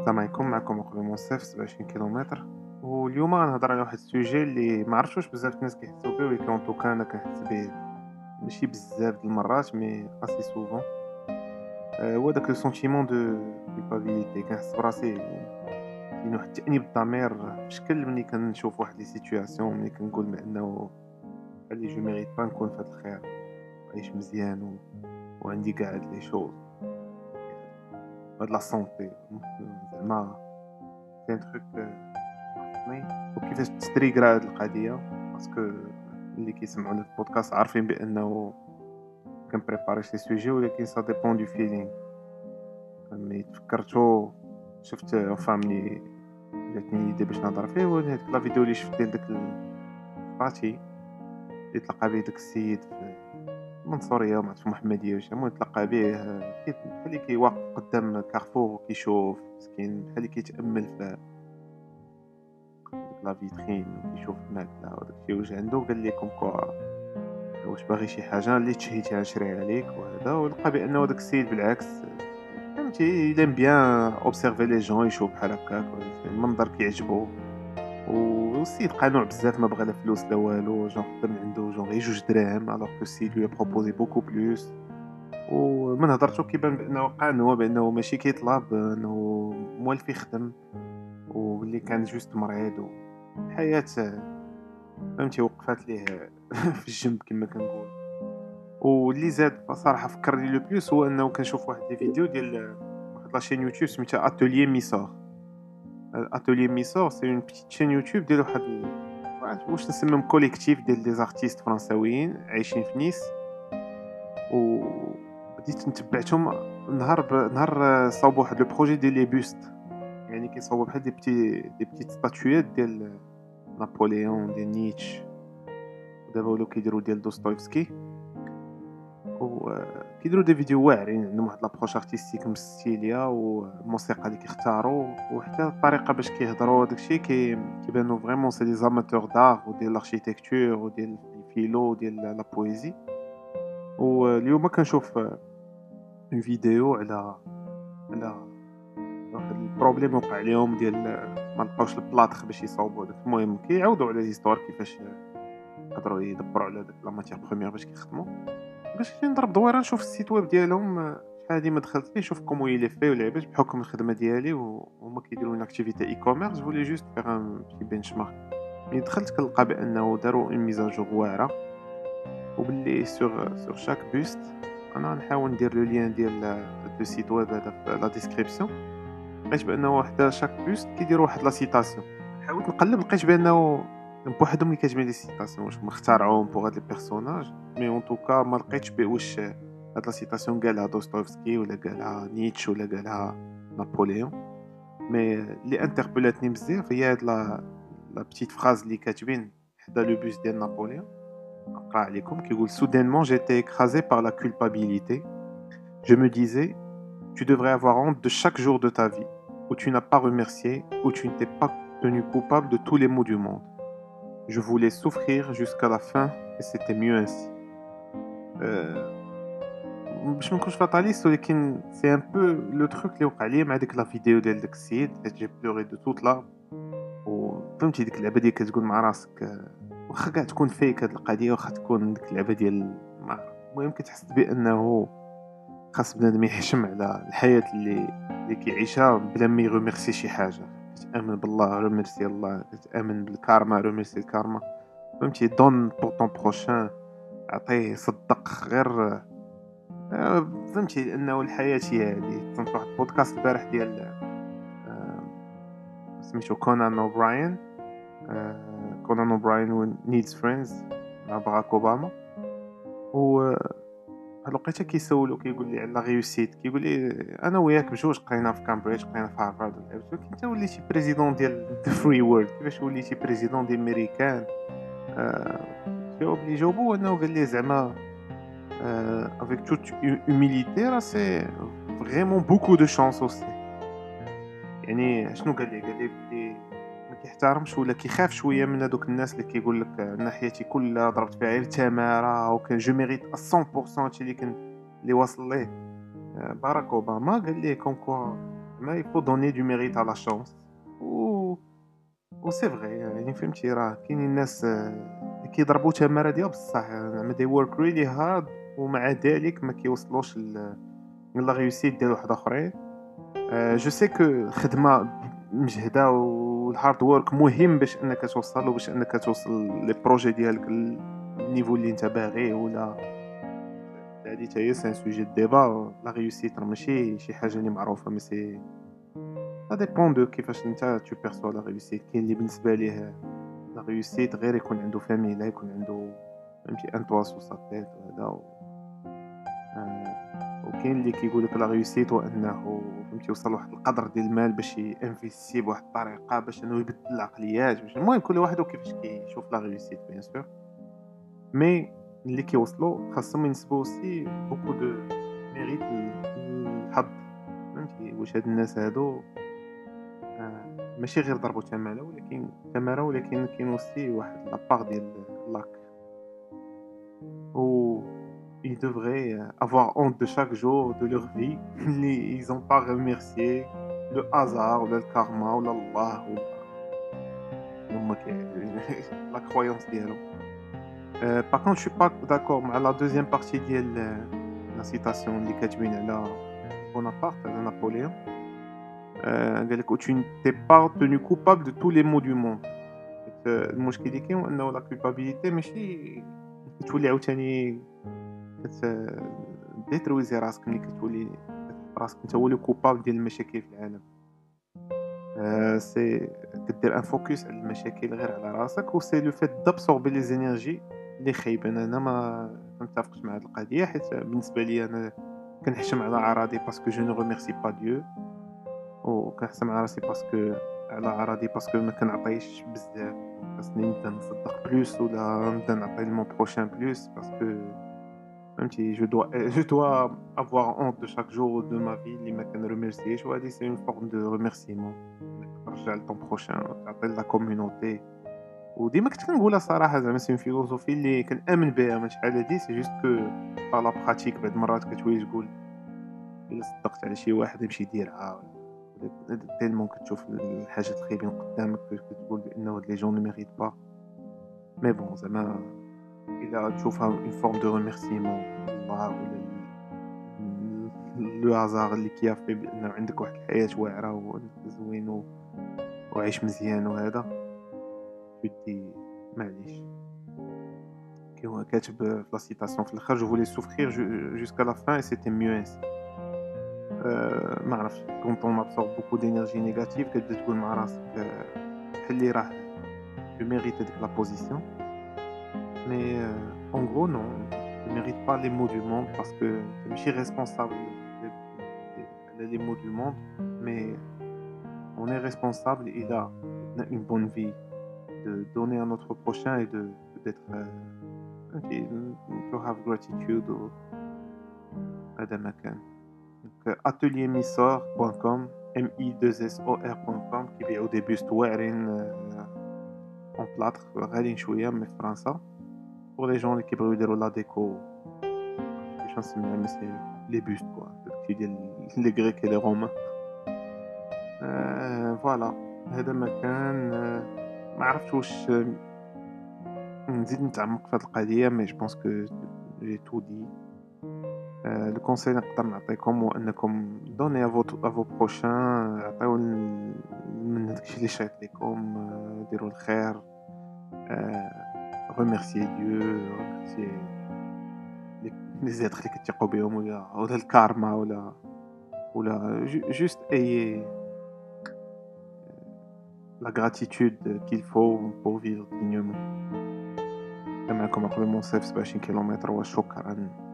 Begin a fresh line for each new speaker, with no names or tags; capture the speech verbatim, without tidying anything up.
السلام عليكم. معكم أخويا منصف سبعة وعشرين كيلومتر. واليوم غنهضر على واحد السوجي اللي ما عرفتش واش بزاف الناس كيحسوا به، ولكن ان توكا انا كنحس به ماشي بزاف د المرات مي اسي سوفون. آه، هو داك لو سونتيمون دو كولبابيليتي. كنحس براسي كاين واحد التأنيب الضمير في شكل ملي كنشوف واحد لي سيتوياسيون، ملي كنقول بانه بحال جو ميريت با نكون في هاد الخير وعايش مزيان و... وعندي كاع هاد لي شوز، هاد لا سونتي زعما كاين تخيك خصني. وكيفاش تستريكرا هاد القضيه، باسكو اللي كيسمعوا لي البودكاست عارفين بانه كنبريباري شي سوجي، ولكن سا ديبون دو فيلينغ. ملي تفكرتو شفت فاملي جاتني ايدي باش نهضر فيه، هو هاديك لا فيديو اللي شفت ديال داك الباتي اللي تلقى به داك السيد في المنصوريه، ما عرفتش في محمديه واش، المهم تلقى به كي- بحال اللي كيواقف قدام كارفور وكيشوف مسكين، بحال اللي كيتامل في ديك لا فيترين وكيشوف الماكله وداك الشيء واش عنده. قال لي كوم كوا واش باغي شي حاجه اللي تشهيتها نشريها ليك وهذا، ولقى بانه داك السيد بالعكس فهمتي لين بيان اوبسيرفي لي جون، يشوف بحال هكاك المنظر كيعجبو. والسيد قانوع بزاف، ما بغى لا فلوس لا والو، جون خدم عنده جون غير جوج دراهم الوغ كو السيد لو بروبوزي بوكو بلوس. ومن هضرتو كيبان بانه قانوع، بانه ماشي كيطلب، انه موالف يخدم، واللي كان جوست مريض والحياه فهمتي وقفات ليه في الجنب كما كنقول. واللي زاد بصراحه فكرني لو بلوس هو انه كنشوف واحد لي فيديو ديال واحد لاشين يوتيوب سميتها اتوليي ميسور. اتوليي ميسور سي اون بيتيت شين يوتيوب ديال واحد ال... واحد- واش نسميهم كوليكتيف ديال لي زارتيست فرنساويين عايشين في نيس. و بديت نتبعتهم نهار ب... نهار صاوبوا واحد لو بروجي ديال لي بوست، يعني كيصاوبوا بحال دي بتي دي بتيت ستاتويات ديال نابليون ديال نيتش، ودابا ولاو كيديروا ديال دوستويفسكي. وكيديروا دي فيديو واعرين، عندهم واحد لابروش ارتستيك مستيليه، والموسيقى اللي كيختاروا وحتى الطريقه باش كيهضروا داكشي كي كيبانوا فريمون سي دي زاماتور دار وديال الاركيتكتور وديال الفيلو وديال لا بويزي. واليوم كنشوف اون فيديو على على واحد البروبليم وقع لهم ديال ما لقاوش البلاطخ باش يصاوبوا داك. المهم كيعاودوا على ليستوار كيفاش قدروا يدبروا على داك لا ماتيير بروميير باش كيخدموا. باش نضرب دويره نشوف السيت ويب ديالهم، آه، شحال هادي ما دخلت ليه نشوف كومون يلي في ولعباش بحكم الخدمه ديالي وهما كيديروا اون اكتيفيتي اي كوميرس. فولي جوست فيغ ان بتي بنش مارك. ملي دخلت كنلقى بانه داروا اون ميزاجور واعره، وباللي سور سور شاك بوست انا نحاول ندير لو لين ديال لو سيت ويب هذا في لا ديسكريبسيون. لقيت بانه حتى شاك بوست كيديروا واحد لا سيتاسيون. حاولت نقلب لقيت بانه بوحدهم اللي كتجبد لي سيتاسيون، واش هما اخترعوهم بوغ هاد لي بيرسوناج. مي اون توكا ما لقيتش بي واش هاد لا سيتاسيون قالها دوستويفسكي ولا قالها نيتش ولا قالها نابليون. مي اللي انتربلاتني بزاف هي هاد لا لا بتيت فراز اللي كاتبين حدا لو بوس ديال نابليون. نقرا عليكم كيقول: soudainement j'étais écrasé par la culpabilité. Je me disais, tu devrais avoir honte de chaque jour de ta vie où tu n'as pas remercié, où tu ne t'es pas tenu coupable de tous les maux du monde. Je voulais souffrir jusqu'à la fin et c'était mieux ainsi. Euh, باش ما نكونش فاتاليست، ولكن سي ان بو لو تروك اللي وقع لي مع ديك لا فيديو ديال داك السيد حيت جي بلوري دو توت لا. وفهمتي ديك اللعبه ديال كتقول مع راسك، آه، واخا كاع تكون فيك هاد القضيه، واخا تكون ديك اللعبه ديال ما- المهم كتحس بانه خاص بنادم يحشم على الحياه اللي اللي كيعيشها بلا ما يغمرسي شي حاجه. كتامن بالله رمرسي الله، كتامن بالكارما رمرسي الكارما. فهمتي دون بور طون بروشان، عطيه صدق غير. آه، فهمتي انه الحياه هي هذه. كنت واحد البودكاست البارح ديال آه، سميتو كونان اوبراين. آه، كونان اوبراين و نيدز فريندز مع باراك اوباما. و لقيته كيسولو كيقول لي على لا ريوسيت، كيقول لي انا وياك بجوج قرينا في كامبريدج، قرينا في هارفارد، ولكن انت وليتي بريزيدون ديال ذا فري وورلد، كيفاش وليتي بريزيدون ديال ميريكان؟ آه، الجواب اللي جاوبو انه قال لي زعما افيك توت humilité راه سي فريمون بوكو دو شانس اوسي. يعني شنو قال لي؟ قال لي بلي ما كيحترمش ولا كيخاف شويه من هذوك الناس اللي كيقول لك انا حياتي كلها ضربت فيها غير تماره وكان جو ميريت مية بالمية هادشي اللي كان اللي واصل ليه. آه، باراك اوباما قال ليه كوم كوا Mais il faut donner du mérite à la chance و وسي فغي يعني فهمتي راه كاينين ناس آه، كيضربوا تمارة ديال بصح زعما they work really hard ومع ذلك ما كيوصلوش ل لا réussite ديال واحد آخرين. آآ جو سي كو الخدمة مجهدة والhard work مهم باش أنك توصل وباش أنك توصل les projets ديالك للنيفو اللي أنت باغيه ولا هادي حتى هي c'est un sujet de débat. la réussite راه ماشي شي حاجة اللي معروفة mais c'est ça dépend de كيفاش أنت tu perçois la réussite. كاين اللي بالنسبة ليه لا réussite غير يكون عنده famille لا يكون عنده فهمتي un toit sous sa tête وهذا و آآ وكاين اللي كيقول لك لا réussite هو أنه فهمتي يوصل لواحد القدر ديال المال باش يinvesti بواحد الطريقة باش أنه يبدل العقليات باش المهم كل واحد وكيفاش كيشوف لا réussite bien sûr. مي اللي كيوصلوا خاصهم ينسبوا aussi beaucoup de mérite لل للحظ فهمتي. واش هاد الناس هادو آآ ماشي غير ضربوا تمارة ولكن تمارة ولكن كاين aussi واحد la part ديال luck و ils devraient euh, avoir honte de chaque jour de leur vie اللي ils ont pas remercié le hasard ولا الكارما ولا الله ولا هما كي la croyance ديالهم. Heu, par contre je suis pas d'accord مع la deuxième partie ديال la citation اللي كاتبين على Bonaparte على نابليون. آآ قال لك: «Où tu n'es pas tenu coupable de tous les maux du monde». حيت المشكل اللي كاين هو أنه la culpabilité ماشي كتولي عاوتاني كت ديترويزي راسك ملي كتولي كتحط راسك أنت هو لو كوبابل ديال المشاكل في العالم. آآ سي كدير ان فوكس على المشاكل غير على راسك و سي لو فيت دابسوربي لي زينيرجي اللي خايبة. أنا أنا ما كنتفقش مع هاد القضية حيت بالنسبة ليا أنا كنحشم على أعراضي باسكو جو نو ريميرسي با ديو وكنحشم على راسي باسكو على أعراضي باسكو ما كنعطيش بزاف. خاصني نبدا نصدق بلوس ولا نبدا نعطي لمون بروشان بلوس باسكو فهمتي je dois je dois avoir honte de chaque jour de ma vie اللي ما كنريميرسيش وهادي سي une forme de remerciement انك ترجع لطون بروشان وتعطي لا كوميونيتي. وديما كنت كنقولها صراحة زعما سي فيلوزوفي اللي كنآمن بها من شحال هادي سي جوست كو با لا براتيك بعض المرات كتولي تقول إلا صدقت على شي واحد يمشي يديرها ولا تيلمون كتشوف الحاجات الخايبين قدامك كتقول بأنه هاد لي جون نو ميريت با. مي بون زعما إلا تشوفها une forme de remerciement لله ولا ل لو هازار اللي كيافي بأنه عندك واحد الحياة واعرة وأنك زوين و وعايش مزيان وهذا تدي معليش. كي هو كاتب في لا سيتاسيون في الآخر: «Je voulais souffrir ju jusqu'à la fin et c'était mieux ainsi». آآ ما عرفتش quand on absorbe beaucoup d'énergie négative كتبدا تقول مع راسك بحال اللي راه je mérite هاديك la position. Mais euh, en gros, non, tu ne mérites pas les maux du monde parce que tu es responsable des, des- des maux du monde, mais on est responsable, il a une bonne vie, de donner à notre prochain et de d'être euh, ok, to have gratitude au هذا ما كان. Donc atelier misor point com m i deux s o r point com كيبيعوا دي بوست واعرين اون بلاطر غاليين شويه من فرنسا pour les gens اللي كيبغيو يديروا لا ديكو كيفاش نسميها مي سي لي بوست كوا داكشي ديال لي غريك اي لي رومان. آه فوالا هذا ما كان. آه ما عرفتش واش آه، نزيد نتعمق في هذه القضيه مي جو بونس كو جي تو دي. آه لو كونساي نقدر نعطيكم هو انكم دوني ا فوت ا فو بروشان عطيو ال- من داكشي اللي شايط لكم. آه ديروا الخير. آه remercier Dieu remercier les les êtres اللي كتثقوا بهم ولا ولا الكارما ولا ولا ju- juste ayez la gratitude qu'il faut pour vivre dignement. كان معكم أخوي منصف سبعة وعشرين كيلومتر وشكرا.